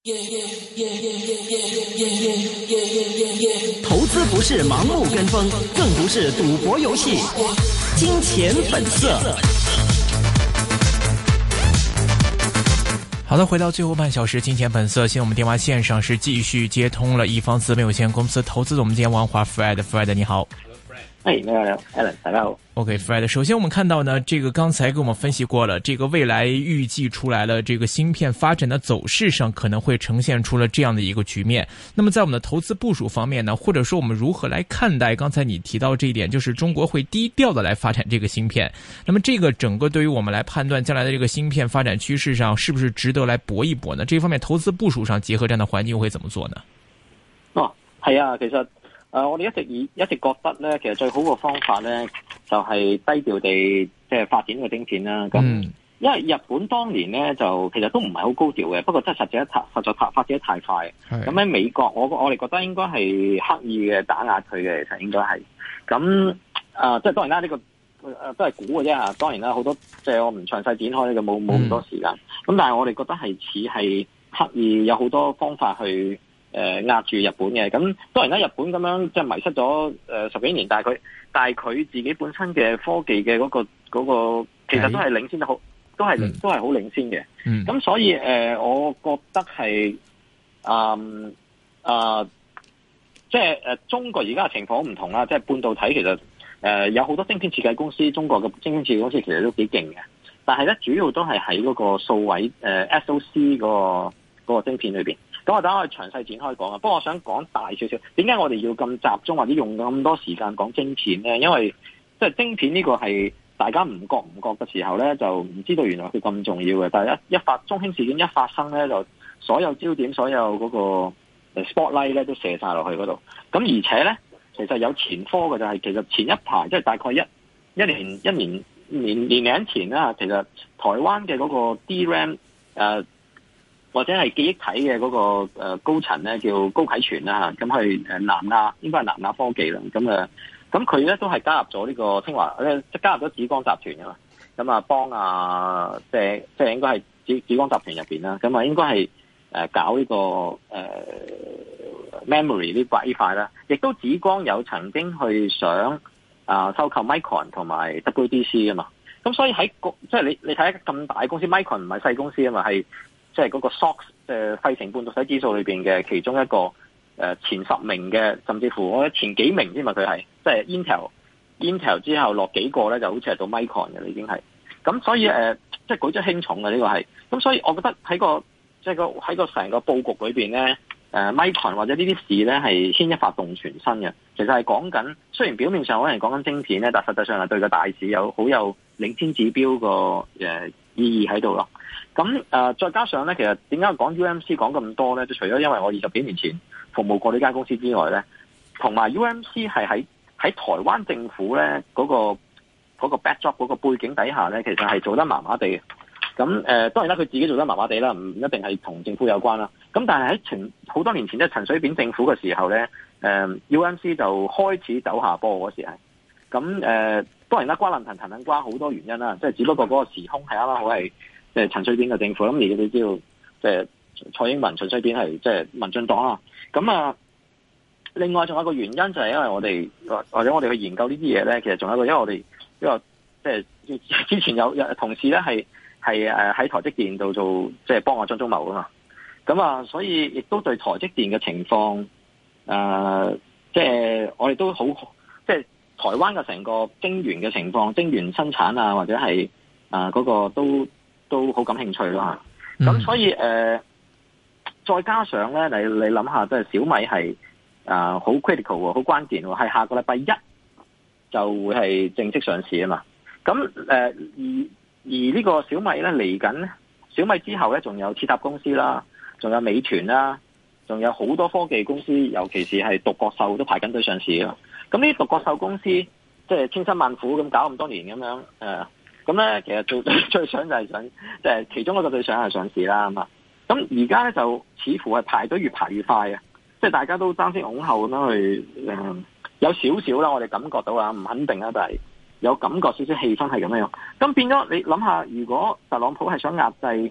投資不是盲目跟風，更不是賭博遊戲。金錢本色。 好的，回到最後半小時，金錢本色。現在我們電話線上是繼續接通了一方資本有限公司投資總監王華 Fred 你好。 你好 Alan 大家好。 OK Fred， 首先我們看到呢，這個剛才跟我們分析過了，這個未來預計出來了，這個芯片發展的走勢上可能會呈現出了這樣的一個局面。那麼在我們的投資部署方面呢，或者說我們如何來看待剛才你提到這一點，就是中國會低調的來發展這個芯片。那麼這個整個對於我們來判斷將來的這個芯片發展趨勢上，是不是值得來搏一搏呢？這方面投資部署上結合這樣的環境會怎麼做呢？ 係啊，其實我哋一直覺得咧，其實最好嘅方法咧，就係低調地即係發展個晶片啦。咁因為日本當年咧就其實都唔係好高調嘅，不過真係實在發展得太快。咁喺美國，我哋覺得應該係刻意嘅打壓佢嘅，其實應該係。咁即係當然啦，呢個都係估嘅啫嚇。當然啦，好多即係我唔詳細展開呢個冇咁多時間。咁但係我哋覺得係似係刻意有好多方法去壓住日本嘅。咁當然啦，日本咁樣即係迷失咗十幾年，但係佢自己本身嘅科技嘅嗰個其實都係領先得好，都係好領先嘅。咁所以我覺得係即係中國而家嘅情況唔同啦。即係半導體其實有好多晶片設計公司，中國嘅晶片設計公司其實都幾勁嘅，但係咧主要都係喺嗰個數位SoC 嗰個晶片裏邊。咁我等我詳細展開講啊。不過我想講大少少，點解我哋要咁集中或者用咁多時間講晶片咧？因為即係晶片呢個係大家唔覺嘅時候咧，就唔知道原來佢咁重要嘅。但係中興事件一發生咧，就所有焦點、所有嗰個 spotlight 咧都射晒落去嗰度。咁而且咧，其實有前科嘅就係其實前一排即係大概一年零前啦，其實台灣嘅嗰個 DRAM 或者係記憶體嘅嗰個高層咧叫高啟全啦嚇，咁係南亞應該係南亞科技啦，咁佢咧都係加入咗呢個清華即係加入咗紫光集團㗎嘛，咁啊幫即係應該係紫光集團入邊啦，咁啊應該係搞呢個memory 呢塊啦，亦都紫光有曾經去想收購 Micron 同埋 WDC 啊嘛，咁所以喺即係你睇咁大公司 Micron 唔係細公司啊嘛，係即係嗰個 SOX 費城半導體指數裏邊嘅其中一個前10名嘅，甚至乎我覺得前幾名添嘛，佢係即係 Intel 之後落幾個咧，就好似係到 Micron 嘅已經係。咁所以即係舉足輕重嘅呢個係。咁所以我覺得喺喺個成個佈局裏邊咧，Micron 或者呢啲事咧係牽一髮動全身嘅。其實係講緊，雖然表面上可能講緊晶片咧，但實際上係對個大市好有領先指標個意義喺度咯。咁再加上咧，其實點解講 UMC 講咁多咧？就除咗因為我20幾年前服務過呢間公司之外咧，同埋 UMC 係喺台灣政府咧嗰個 backdrop 嗰個背景底下咧，其實係做得麻麻地嘅。咁當然啦，佢自己做得麻麻地啦，唔一定係同政府有關啦。咁但係喺好多年前，即係陳水扁政府嘅時候咧，UMC 就開始走下坡嗰時係。咁當然啦，瓜爛藤瓜好多原因啦，即係只不過嗰個時空係啱啱好係即係陳水扁嘅政府。咁而你知道，即係蔡英文、陳水扁係即係民進黨啦。咁另外仲有一個原因就係因為我哋或者我哋去研究呢啲嘢咧，其實仲有一個因為我哋即係之前有同事咧係喺台積電度做即係幫我張忠謀噶嘛。咁所以亦都對台積電嘅情況即係我哋都好即係台灣嘅成個晶圓嘅情況、晶圓生產或者係嗰個都好感興趣咯。咁所以再加上咧，你諗下，即係小米係好 critical 喎，好關鍵喎，係下個禮拜1就會係正式上市啊嘛。咁而呢個小米咧嚟緊，小米之後咧仲有設塔公司啦，仲有美團啦，仲有好多科技公司，尤其是係獨角獸都排緊隊上市啊。咁呢啲獨角獸公司即係千辛萬苦咁搞咁多年咁樣咁咧其實最想就係想即係其中一個最想係上市啦咁啊。咁而家咧就似乎係排隊越排越快啊！即係大家都爭先恐後咁樣去有少少啦，我哋感覺到唔肯定啦，但係有感覺少少氣氛係咁樣。咁變咗你諗下，如果特朗普係想壓制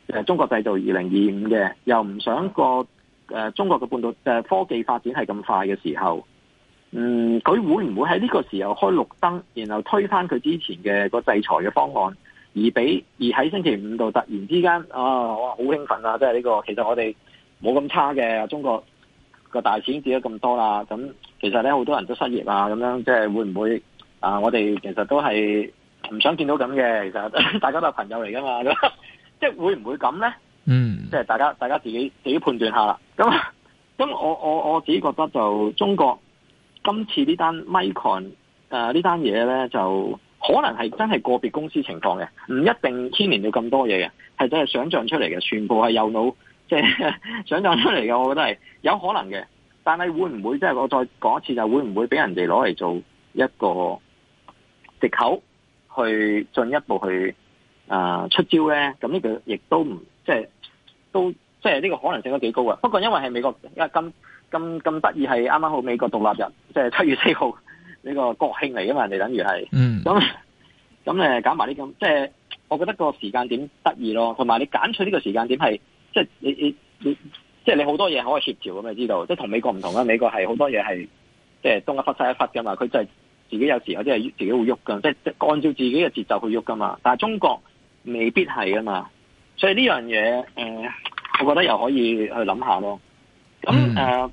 中國製造2025嘅，又唔想中國嘅半導體科技發展係咁快嘅時候，佢會唔會喺呢個時候開綠燈，然後推翻佢之前嘅個制裁嘅方案，而喺星期五度突然之間哇好興奮啊！即係呢個其實我哋冇咁差嘅，中國個大錢跌咗咁多啦，咁其實咧好多人都失業啊，咁樣即係會唔會我哋其實都係唔想見到咁嘅，其實大家都係朋友嚟噶嘛，即係會唔會咁咧？即係大家自己判斷下啦。咁我自己覺得就中國今次呢單 Micron 呢單嘢咧，就可能係真係個別公司情況嘅，唔一定牽連到咁多嘢嘅，係真係想象出嚟嘅，全部係右腦即係想象出嚟嘅，我覺得係有可能嘅。但係會唔會即係我再講一次，就會唔會俾人哋攞嚟做一個藉口去進一步去出招咧？咁呢個亦都唔即係呢個可能性都幾高嘅。不過因為係美國咁得意，係啱啱好美國獨立日，即係7月4號呢個國慶嚟噶嘛，人哋等於係咁搞埋啲咁，即係我覺得個時間點得意咯，同埋你揀取呢個時間點係即係你即係你好多嘢可以協調咁，你知道，即係同美國唔同啦。美國係好多嘢係即係東一忽西一忽噶嘛，佢就係自己有時有啲係自己會喐噶，即係按照自己嘅節奏去喐噶嘛。但係中國未必係噶嘛，所以呢樣嘢我覺得又可以去諗下咯。咁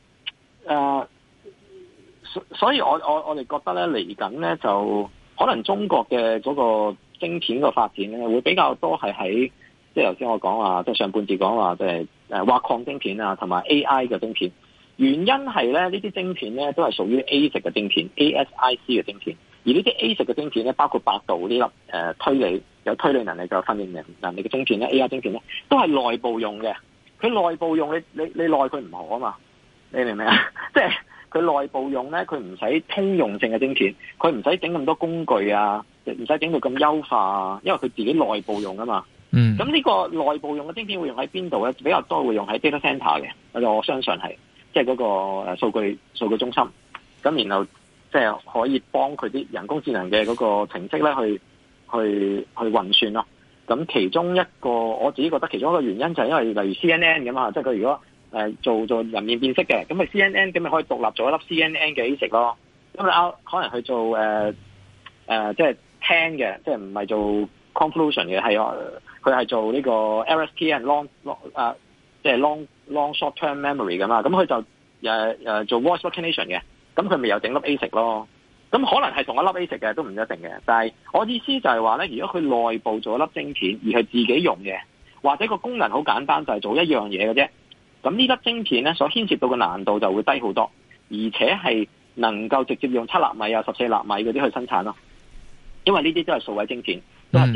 所以我哋覺得咧嚟緊咧就可能中國嘅嗰個晶片個發展咧會比較多係喺即係頭先我講話，即係上半節講話即係挖礦晶片啊，同埋 AI 嘅晶片。原因係咧呢啲晶片咧都係屬於 ASIC 嘅晶片 ，ASIC 嘅晶片。而呢啲 ASIC 嘅晶片咧，包括百度呢粒有推理能力嘅訓練能力嘅晶片咧 ，AI 晶片咧都係內部用嘅。佢內部用你內佢唔好啊嘛，你明唔明啊？即係佢內部用咧，佢唔使通用性嘅晶片，佢唔使整咁多工具啊，唔使整到咁優化啊，因為佢自己內部用啊嘛。咁呢個內部用嘅晶片會用喺邊度咧？比較多會用喺 data center 嘅，我相信係即係嗰個數據中心。咁然後即係可以幫佢啲人工智能嘅嗰個程式咧去運算咯。咁其中一個我自己覺得其中一個原因就係因為例如 CNN 咁啊，即係佢如果做人面辨識嘅，咁咪 CNN 咁咪可以獨立做一粒 CNN 嘅 ASIC 咯。咁你可能去做即係聽嘅，即係唔係做 convolution 嘅，佢係做呢個 LSTM long 即係 long short term memory 噶嘛。咁佢就做 voice recognition 嘅，咁佢咪又整粒 ASIC 咯。咁可能係同一粒 ASIC 嘅，都唔一定嘅。但係我意思就係話咧，如果佢內部做一粒晶片，而係自己用嘅，或者個功能好簡單，就係做一樣嘢嘅啫。咁呢粒晶片咧，所牽涉到嘅難度就會低好多，而且係能夠直接用7納米啊、14納米嗰啲去生產咯。因為呢啲都係數位晶片，都係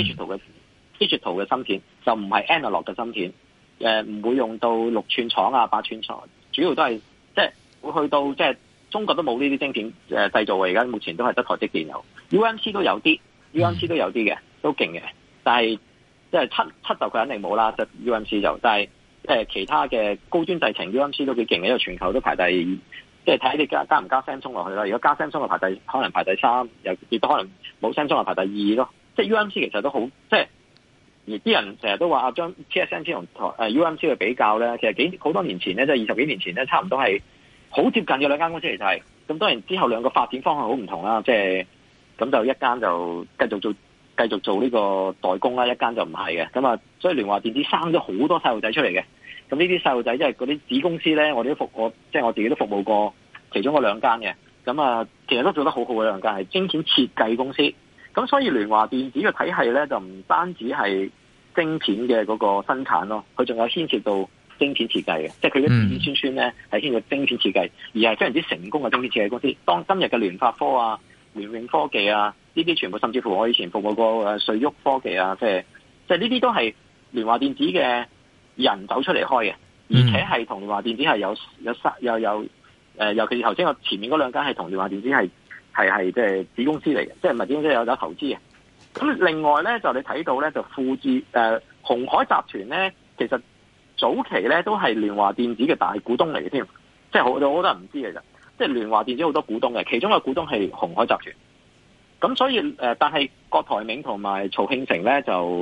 digital 嘅芯片，就唔係 analog 嘅芯片。唔會用到6寸廠啊、8寸廠，主要都係即係會去到即係。中國都冇呢啲晶片製造嘅，而家目前都係得台積電有 ，UMC 都有啲，UMC 都有啲嘅，都勁嘅。但係即係七就佢肯定冇啦，即係 UMC 就，但係其他嘅高端製程 UMC 都幾勁嘅，因為全球都排第二，即係睇你加唔加 Samsung 落去啦。如果加 Samsung 就可能排第3，亦都可能冇 Samsung 就排第2咯。即係 UMC 其實都好，即係而啲人成日都話將 TSMC 同UMC 去比較咧，其實好多年前咧，即係20幾年前咧，差唔多係。好接近嘅兩間公司嚟就係，咁當然之後兩個發展方向好唔同啦，即係咁就一間就繼續做呢個代工啦，一間就唔係嘅，咁啊，所以聯華電子生咗好多細路仔出嚟嘅，咁呢啲細路仔即係嗰啲子公司咧，我自己都服務過其中嗰兩間嘅，咁啊，其實都做得好好嘅兩間係晶片設計公司，咁所以聯華電子嘅體系咧就唔單止係晶片嘅嗰個生產咯，佢仲有牽涉到。晶片設計嘅，即係佢嘅子子孫孫咧係牽涉晶片設計，而係非常之成功嘅晶片設計公司。當今日嘅聯發科啊、聯永科技啊，呢啲全部甚至乎我以前服務過瑞昱科技啊，即係呢啲都係聯華電子嘅人走出嚟開嘅，而且係同聯華電子係尤其是頭先我前面嗰兩間係同聯華電子係即係子公司嚟嘅，即係唔係子公司有投資嘅。咁另外咧就你睇到咧就鴻海集團咧其實。早期咧都係聯華電子嘅大股東嚟嘅添，即係好多人唔知嘅啫。即係聯華電子好多股東嘅，其中一個股東係鴻海集團。咁所以但係郭台銘同埋曹慶成咧就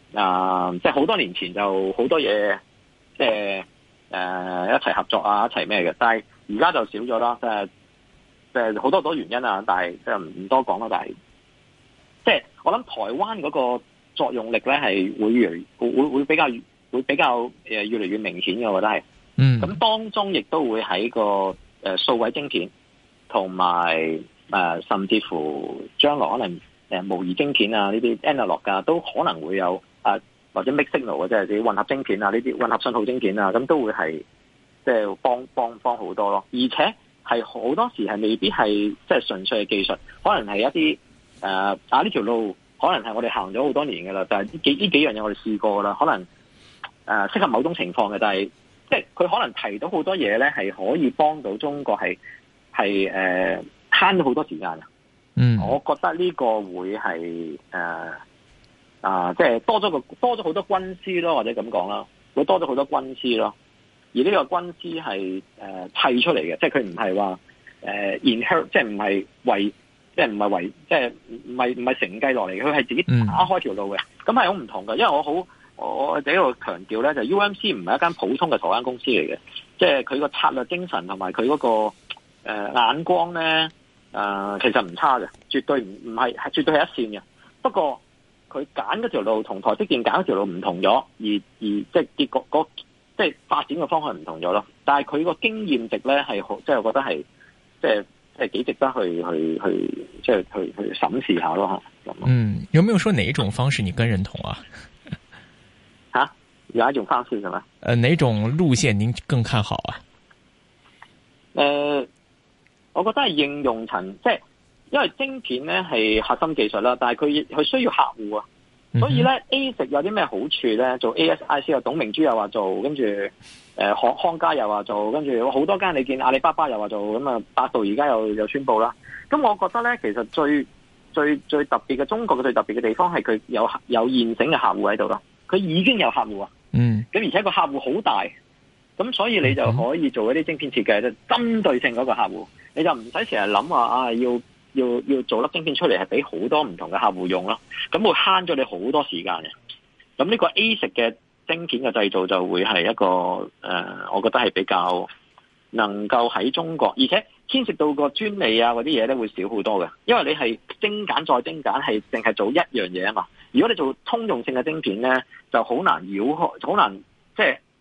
即係好多年前就好多嘢，即係一齊合作啊，一齊咩嘅。但係而家就少咗啦，即係好多原因啊。但係即係唔多講啦。但係即係我諗台灣嗰個作用力咧係會比較越嚟越明顯嘅，我覺得係。咁當中亦都會喺個數位晶片同埋甚至乎將來可能模擬晶片啊呢啲 analog 啊都可能會有或者 mixed signal 即係啲混合晶片啊呢啲混合信號晶片啊，咁都會係即係幫好多咯。而且係好多時係未必係即係純粹嘅技術，可能係一啲呢條路可能係我哋行咗好多年㗎啦，但係呢幾樣嘢我哋試過啦，可能適合某種情況嘅，但係即係佢可能提到好多嘢咧，係可以幫到中國係慳咗好多時間。我覺得呢個會係即係多咗好多軍師咯，或者咁講啦，會多咗好多軍師咯。而呢個軍師係砌出嚟嘅，即係佢唔係話inherit，即係唔係為，即係唔係為，即係唔係承繼落嚟嘅，佢係自己打開條路嘅。咁係好唔同嘅，因為我喺度強調咧，就 UMC 唔係一間普通嘅台灣公司嚟嘅，即係佢個策略精神同埋佢嗰個眼光咧，其實唔差嘅，絕對唔係絕對係一線嘅。不過佢揀嗰條路同台積電揀嗰條路唔同咗，而即係結果即係發展嘅方向唔同咗咯。但係佢個經驗值咧係好，即係我覺得係即係幾值得去審視下咯。 有沒有說哪一種方式你更認同啊？ 有一種方式係咪？ 哪種路線您更看好啊？ 我覺得係應用層，即係因為晶片咧係核心技術啦，但係佢需要客戶啊，所以咧 ASIC 有啲咩好處咧？做 ASIC 有董明珠又話做，跟住康佳又話做，跟住好多間你見阿里巴巴又話做，咁啊百度而家又宣布啦。咁我覺得咧，其實最特別嘅中國嘅最特別嘅地方係佢有現成嘅客戶喺度咯，佢已經有客戶啊。咁而且個客戶好大，咁所以你就可以做一啲晶片設計，就針對性嗰個客戶，你就唔使成日諗話要做粒晶片出嚟係俾好多唔同嘅客戶用咯，咁會慳咗你好多時間嘅。咁呢個 ASIC 嘅晶片嘅製造就會係一個我覺得係比較能夠喺中國，而且牽涉到個專利啊嗰啲嘢咧會少好多嘅，因為你係精簡再精簡，係淨係做一樣嘢啊嘛。如果你做通用性嘅晶片咧，就好難繞開，好難即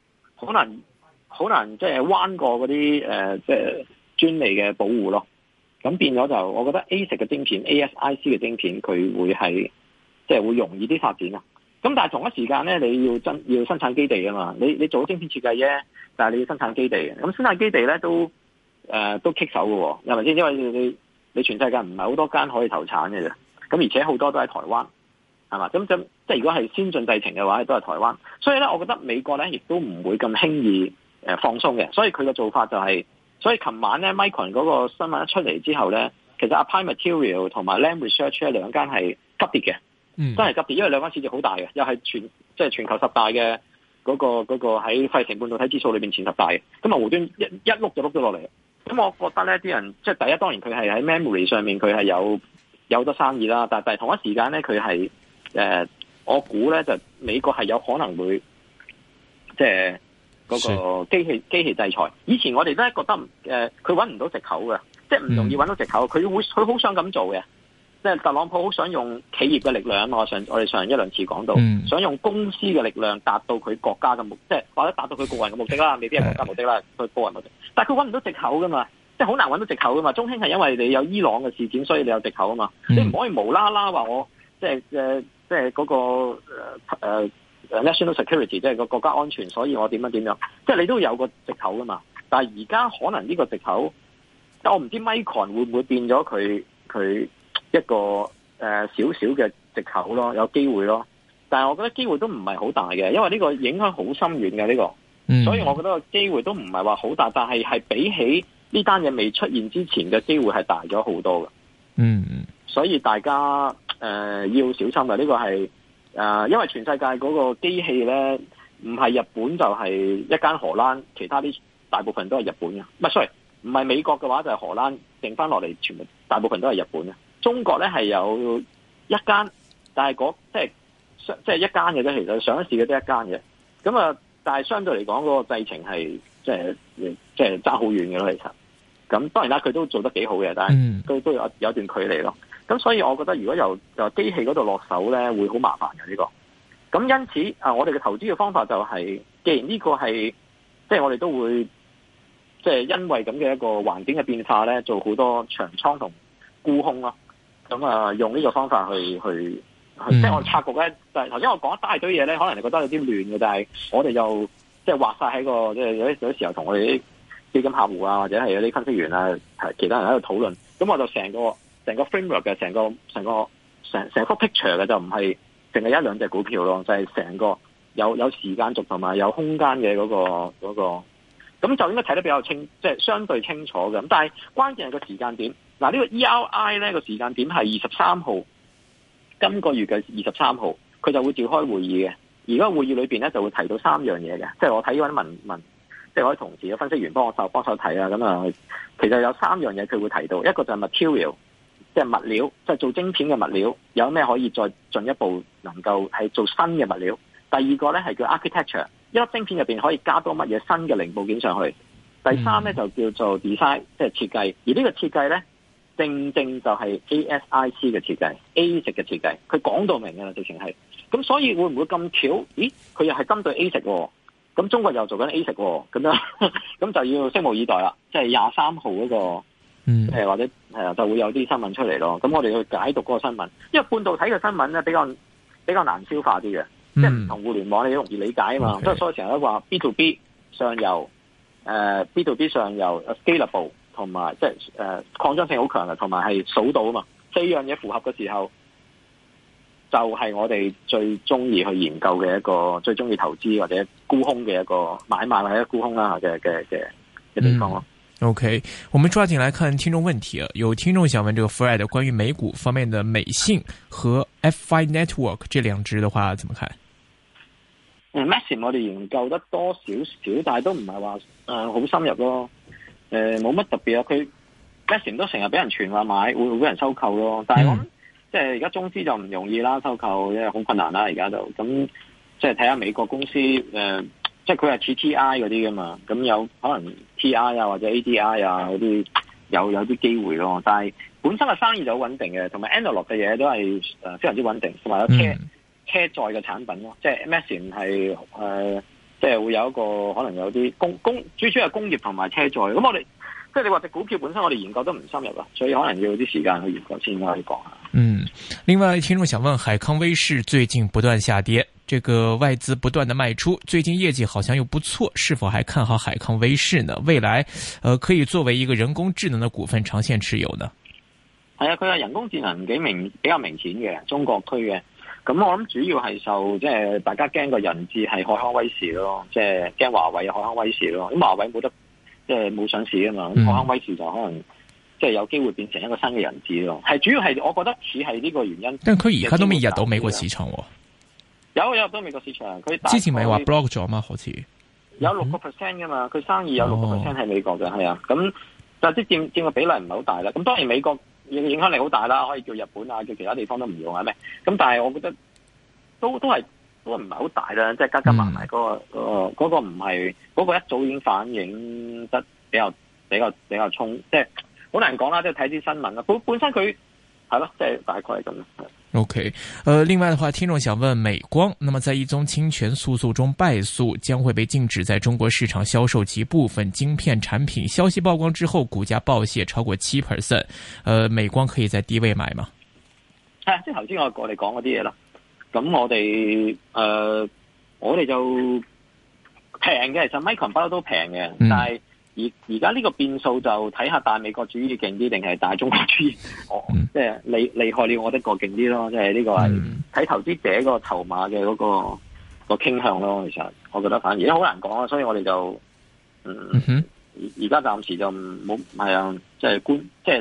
係彎過嗰啲即係專利嘅保護咯。咁變咗就，我覺得 ASIC 嘅晶片、ASIC 嘅晶片，佢會係即係會容易啲發展啊。咁但係同一時間咧，你要生產基地啊嘛。你做晶片設計啫，但係你要生產基地嘅。咁生產基地咧都棘手嘅喎，係咪先？因為你全世界唔係好多間可以投產嘅啫。咁而且好多都喺台灣。係嘛？咁即係如果係先進製程嘅話，都係台灣。所以咧，我覺得美國咧亦都唔會咁輕易放鬆嘅。所以佢嘅做法就係，所以琴晚咧 Micron 嗰個新聞一出嚟之後咧，其實 Applied Material 同埋 Lam Research 咧兩間係急跌嘅，真係急跌，因為兩間市值好大嘅，又係全球10大嘅嗰個喺費城半導體指數裏邊前10大嘅。咁啊無端一碌就碌咗落嚟。咁我覺得咧，啲人即係第一，當然佢係喺 memory 上面佢係有得生意啦，但係同一時間咧佢係。我估咧就美國係有可能會即係嗰個機器制裁。以前我哋都係覺得佢揾唔到藉口嘅，即係唔容易揾到藉口。佢好想咁做嘅，即係特朗普好想用企業嘅力量。我哋上一兩次講到，想用公司嘅力量達到佢國家嘅目的，即係或者達到佢個人嘅目的啦，未必係國家目的啦，佢個人目的。但係佢揾唔到藉口噶嘛，即係好難揾到藉口噶嘛。中興係因為你有伊朗嘅事件，所以你有藉口啊嘛。你唔可以無啦啦話我即係嗰個national security， 即係個國家安全，所以我點樣，即係你都有個藉口噶嘛。但係而家可能呢個藉口，但我唔知 Micron 會唔會變咗佢一個少少嘅藉口咯，有機會咯。但係我覺得機會都唔係好大嘅，因為呢個影響好深遠嘅呢個，所以我覺得個機會都唔係話好大，但係比起呢單嘢未出現之前嘅機會係大咗好多嘅。所以大家要小心嘅，呢個係因為全世界嗰個機器咧，唔係日本就係一間荷蘭，其他啲大部分都係日本嘅。唔係美國嘅話就係荷蘭，剩翻落嚟全部大部分都係日本嘅。中國咧係有一間，但係即係即係一間嘅啫，其實上市嘅得一間嘅。咁啊，但係相對嚟講嗰個製程係即係爭好遠嘅咯，其實。咁當然啦，佢都做得幾好嘅，但係都有段距離咯。咁所以我覺得如果由機器嗰度落手咧，會好麻煩嘅呢個。咁因此我哋嘅投資嘅方法就係，既然呢個係即係我哋都會即係因為咁嘅一個環境嘅變化咧，做好多長倉同沽空咯。咁用呢個方法去即係我哋策局咧，就係頭先我講一大堆嘢咧，可能你覺得有啲亂嘅，但係我哋就即係畫晒喺個即係有啲時候同我哋啲基金客戶啊，或者係有啲分析員啊，其他人喺度討論。咁我就成個 framework 嘅成幅 picture 嘅，就唔係淨係一兩隻股票咯，就係成個有時間軸同埋有空間嘅嗰個，咁就應該睇得比較清，即係相對清楚嘅。咁但係關鍵係個時間點。嗱，呢個 ERI 咧個時間點係23號，今個月嘅23號，佢就會召開會議嘅。而嗰個會議裏邊咧就會提到3樣嘢嘅，即係我睇嗰啲文，即係我啲同事嘅分析員幫手睇啦。咁其實有3樣嘢佢會提到，一個就係 material， 即係物料，即係做晶片嘅物料，有咩可以再進一步能夠係做新嘅物料。第二個咧係叫 architecture， 一粒晶片入邊可以加多乜嘢新嘅零部件上去。第三咧就叫做 design， 即係設計。而呢個設計咧，正就係 ASIC 嘅設計 ，ASIC 嘅設計，佢講到明嘅啦，直情係。咁所以會唔會咁巧？咦，佢又係針對 ASIC 喎，咁中國又做緊 ASIC 喎，咁樣咁就要拭目以待啦。即係23號嗰個，或者就會有啲新聞出嚟咯。咁我哋去解讀嗰個新聞，因為半導體嘅新聞咧比較難消化啲嘅，即係唔同互聯網你容易理解啊嘛。所以成日都話 B to B 上游，B to B 上游 scalable。同埋即係擴張性好強嘅，同埋係數到啊嘛，4樣嘢符合嘅時候，就係我哋最中意去研究嘅一個，最中意投資或者沽空嘅一個買賣或者沽空啦嘅地方咯。 OK， 我們抓緊來看聽眾問題啊，有聽眾想問這個 Fred 關於美股方面的美信和 F5 Network 這兩隻的話，怎麼看 ？Maxim 我哋研究得多少少，但係都唔係話好深入咯。冇乜特別啊，佢 Maxim 都成日俾人傳話買，會俾人收購咯。但係我諗即係而家中資就唔容易啦，收購因為好困難啦，而家就咁即係睇下美國公司即係佢係似 TI 嗰啲噶嘛，咁有可能 TI 啊或者 ADI 啊嗰啲有啲機會咯。但係本身嘅生意就好穩定嘅，同埋 Analog 嘅嘢都係非常之穩定，同埋有車載嘅產品咯，即係 Maxim 係即係會有一個可能有啲主要係工業同埋車載。咁我哋即係你話隻股票本身我哋研究都唔深入啦，所以可能要啲時間去研究先可以講下。 另外聽眾想問，海康威視最近不斷下跌，這個外資不斷的賣出，最近業績好像又不錯，是否還看好海康威視呢？未來可以作為一個人工智能的股份長線持有呢？ 係啊，佢係人工智能比較明顯嘅中國區嘅。咁我諗主要係受即係大家驚個人質係海康威視咯，即係驚華為海康威視咯。咁華為冇得即係冇上市啊嘛，咁海康威視就可能即係有機會變成一個新嘅人質咯。係主要係我覺得似係呢個原因。但係佢而家都未入到美國市場喎。有入到美國市場，佢之前咪話 block 咗嘛，好似有6% 噶嘛，佢生意有6% 喺美國嘅，係啊。咁但係即係佔個比例唔係好大啦。咁當然美國影響力好大啦，可以叫日本啊，叫其他地方都唔用啊咩？咁但係我覺得都唔係好大啦，即係加埋埋嗰個唔係嗰個一早已經反映得比較衝，即係好難講啦，即係睇啲新聞啦。本身佢係咯，即係大概係咁。 OK，另外的話，聽眾想問美光，那麼在一宗侵權訴訟中敗訴，將會被禁止在中國市場銷售其部分晶片產品。消息曝光之後，股價暴瀉超過7%。美光可以在低位買嗎？係，即係頭先我哋講嗰啲嘢啦。咁我哋就平嘅，其實 Micron 不嬲都平嘅，但係而家呢個變數就睇下大美國主義勁啲定係大中國主義，即係厲害了我的個勁啲咯，即係呢個係睇投資者個籌碼嘅嗰個傾向咯。其實我覺得反而好難講啊，所以我哋就而家暫時就冇係啊，即係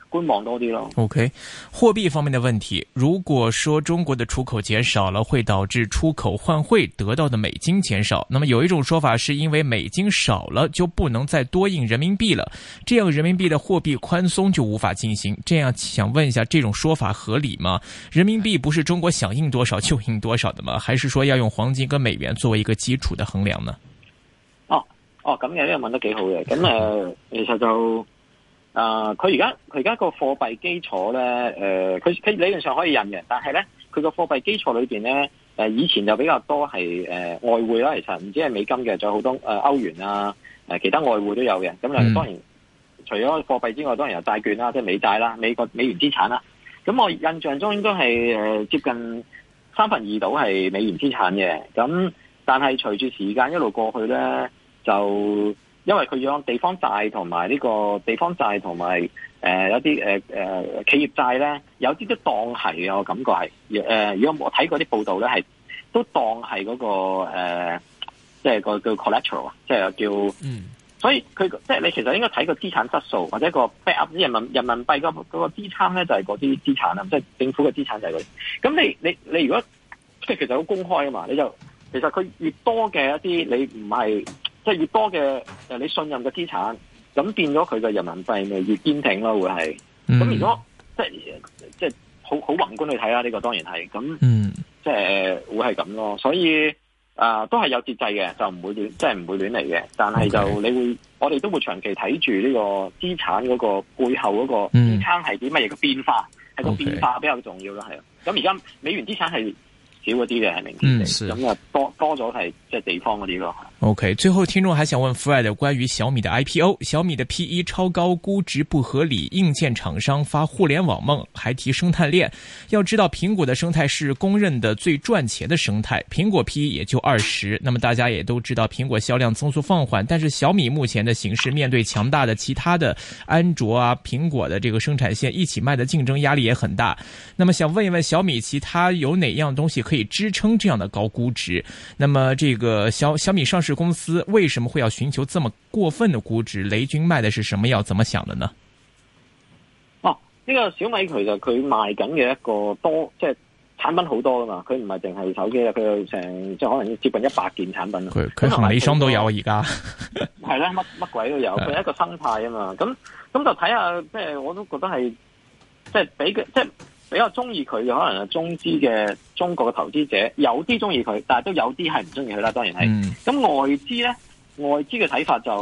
觀望多啲咯。 OK， 貨幣方面的問題，如果說中國的出口減少了，會導致出口換匯得到的美金減少。那麼有一種說法是因為美金少了，就不能再多印人民幣了，這樣人民幣的貨幣寬鬆就無法進行。這樣想問一下，這種說法合理嗎？人民幣不是中國想印多少就印多少的嗎？還是說要用黃金跟美元作為一個基礎的衡量呢？ 咁嘅呢個問得幾好嘅。咁其實就佢而家個貨幣基礎咧，佢理論上可以印嘅，但係咧佢個貨幣基礎裏邊咧，以前就比較多係外匯啦，其實唔止係美金嘅，仲有好多歐元啊，其他外匯都有嘅。咁當然除咗貨幣之外，當然有債券啦，即係美債啦，美元資產啦。咁我印象中應該係接近2/3到係美元資產嘅。咁但係隨住時間一路過去咧，就因為佢有地方債同埋呢個地方債同埋有啲企業債咧，有啲都當係嘅，我感覺係如果我睇過啲報道咧，係都當係嗰個即係個叫 collateral， 即係叫所以佢即係你其實應該睇個資產質素或者個 backup 人民幣嗰個支撐咧，就係嗰啲資產啦，即係政府嘅資產就係嗰啲。咁你如果即係其實好公開啊嘛，你就其實佢越多嘅一啲你唔係。即係越多嘅你信任嘅資產，咁變咗佢嘅人民幣咪越堅挺咯，會係。咁如果即係好宏觀去睇啦，呢個當然係。咁即係會係咁咯。所以都係有節制嘅，就唔會亂，即係唔會亂嚟嘅。但係就你會，我哋都會長期睇住呢個資產嗰個背後嗰個支撐係啲乜嘢嘅變化，係個變化比較重要咯，係啊。咁而家美元資產係少嗰啲嘅係明顯地，咁多咗係即係地方嗰啲咯。 OK， 最後聽眾還想問 Fred 關於小米的 IPO， 小米的 PE 超高，估值不合理，硬件廠商發互聯網夢，還提生態鏈。要知道蘋果的生態是公認的最賺錢的生態，蘋果 PE 也就20，那麼大家也都知道蘋果銷量增速放緩，但是小米目前的形勢面對強大的其他的安卓啊、蘋果的這個生產線一起賣的競爭壓力也很大。那麼想問一問小米其他有哪樣東西可以支撐這樣的高估值？那麼這個小米上市公司為什麼會要尋求這麼過分的估值？雷軍賣的是什麼藥？怎麼想的呢？ 呢個小米其實佢賣緊嘅一個多，即係產品好多噶嘛，佢唔係淨係手機啊，佢有成即係可能接近100件產品。 佢行李箱都有而家。 係啦，乜鬼都有，佢係一個生態啊嘛。咁就睇下，即係我都覺得係，即係比較中意佢嘅，可能係中資嘅中國嘅投資者，有啲中意佢，但係都有啲係唔中意佢啦。當然係。咁外資咧，外資嘅睇法就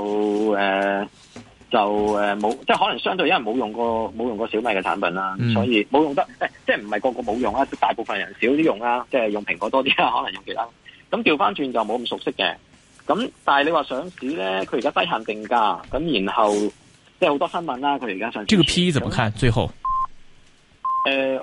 冇，即係可能相對因為冇用過小米嘅產品啦，所以冇用得，即係唔係個個冇用啊，大部分人少啲用啦，即係用蘋果多啲啦，可能用其他。咁調翻轉就冇咁熟悉嘅。咁但係你話上市咧，佢而家低限定價，咁然後即係好多新聞啦，佢而家上市。 這個 PE 怎麼看？最後？